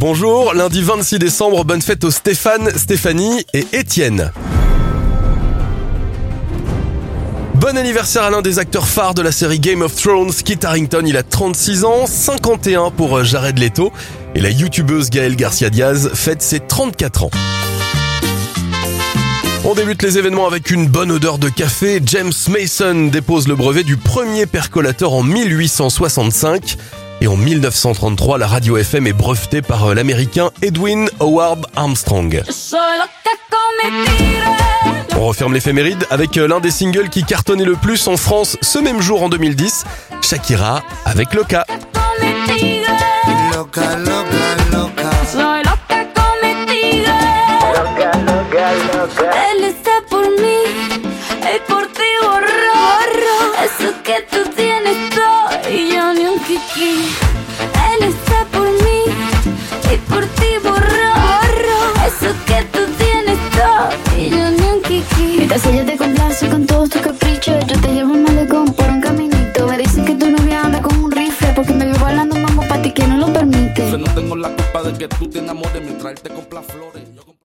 Bonjour, lundi 26 décembre, bonne fête aux Stéphane, Stéphanie et Étienne. Bon anniversaire à l'un des acteurs phares de la série Game of Thrones, Kit Harington, il a 36 ans, 51 pour Jared Leto. Et la youtubeuse Gaëlle Garcia Diaz fête ses 34 ans. On débute les événements avec une bonne odeur de café. James Mason dépose le brevet du premier percolateur en 1865. Et en 1933, la radio FM est brevetée par l'américain Edwin Howard Armstrong. On referme l'éphéméride avec l'un des singles qui cartonnait le plus en France ce même jour en 2010, Shakira avec Loca. Él está por mí y por ti borró eso que tú tienes todo y yo ni un kiki. Él está por mí y por ti borró eso que tú tienes todo y yo ni un kiki. Mientras ella te complace con todos tus caprichos, yo te llevo un malecón por un caminito. Me dicen que tu novia anda con un rifle porque me vio bailando mambo pa' ti que no lo permite. Yo no tengo la culpa de que tú te enamores mientras él te compra flores.